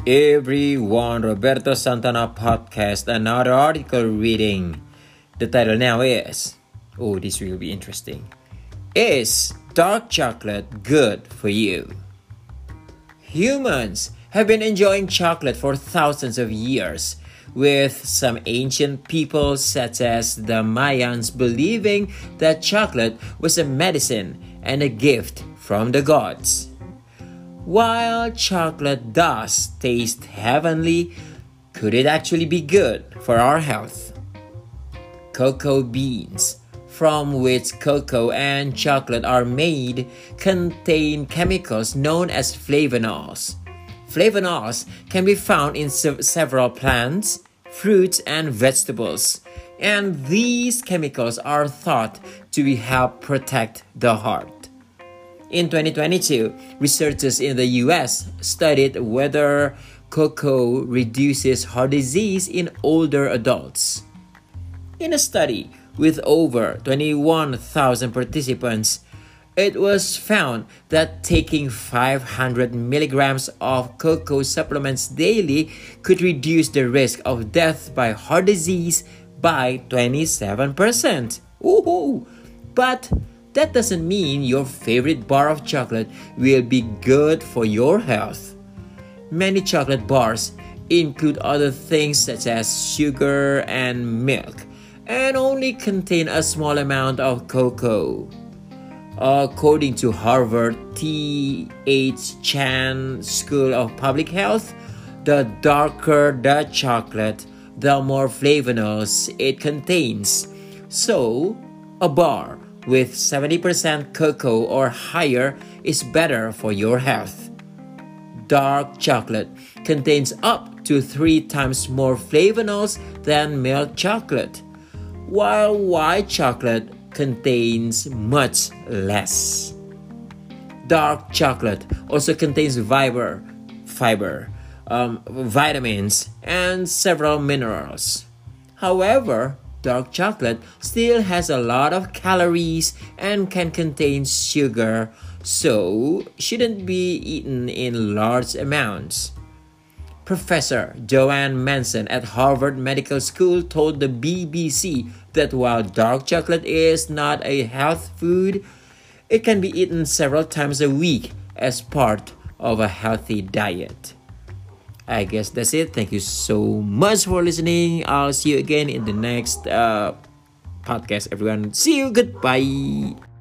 Everyone, Roberto Santana podcast, another article reading. The title now is, this will be interesting. Is dark chocolate good for you? Humans have been enjoying chocolate for thousands of years, with some ancient peoples such as the Mayans believing that chocolate was a medicine and a gift from the gods. While chocolate does taste heavenly, could it actually be good for our health? Cocoa beans, from which cocoa and chocolate are made, contain chemicals known as flavonols. Flavonols can be found in several plants, fruits, and vegetables, and these chemicals are thought to help protect the heart. In 2022, researchers in the US studied whether cocoa reduces heart disease in older adults. In a study with over 21,000 participants, it was found that taking 500 milligrams of cocoa supplements daily could reduce the risk of death by heart disease by 27%. Woohoo! But that doesn't mean your favorite bar of chocolate will be good for your health. Many chocolate bars include other things such as sugar and milk, and only contain a small amount of cocoa. According to Harvard T.H. Chan School of Public Health, the darker the chocolate, the more flavonols it contains. So, a bar with 70% cocoa or higher is better for your health. Dark chocolate contains up to 3 times more flavonols than milk chocolate, while white chocolate contains much less. Dark chocolate also contains fiber, vitamins, and several minerals. However, dark chocolate still has a lot of calories and can contain sugar, so shouldn't be eaten in large amounts. Professor Joanne Manson at Harvard Medical School told the BBC that while dark chocolate is not a health food, it can be eaten several times a week as part of a healthy diet. I guess that's it. Thank you so much for listening. I'll see you again in the next podcast, everyone. See you. Goodbye.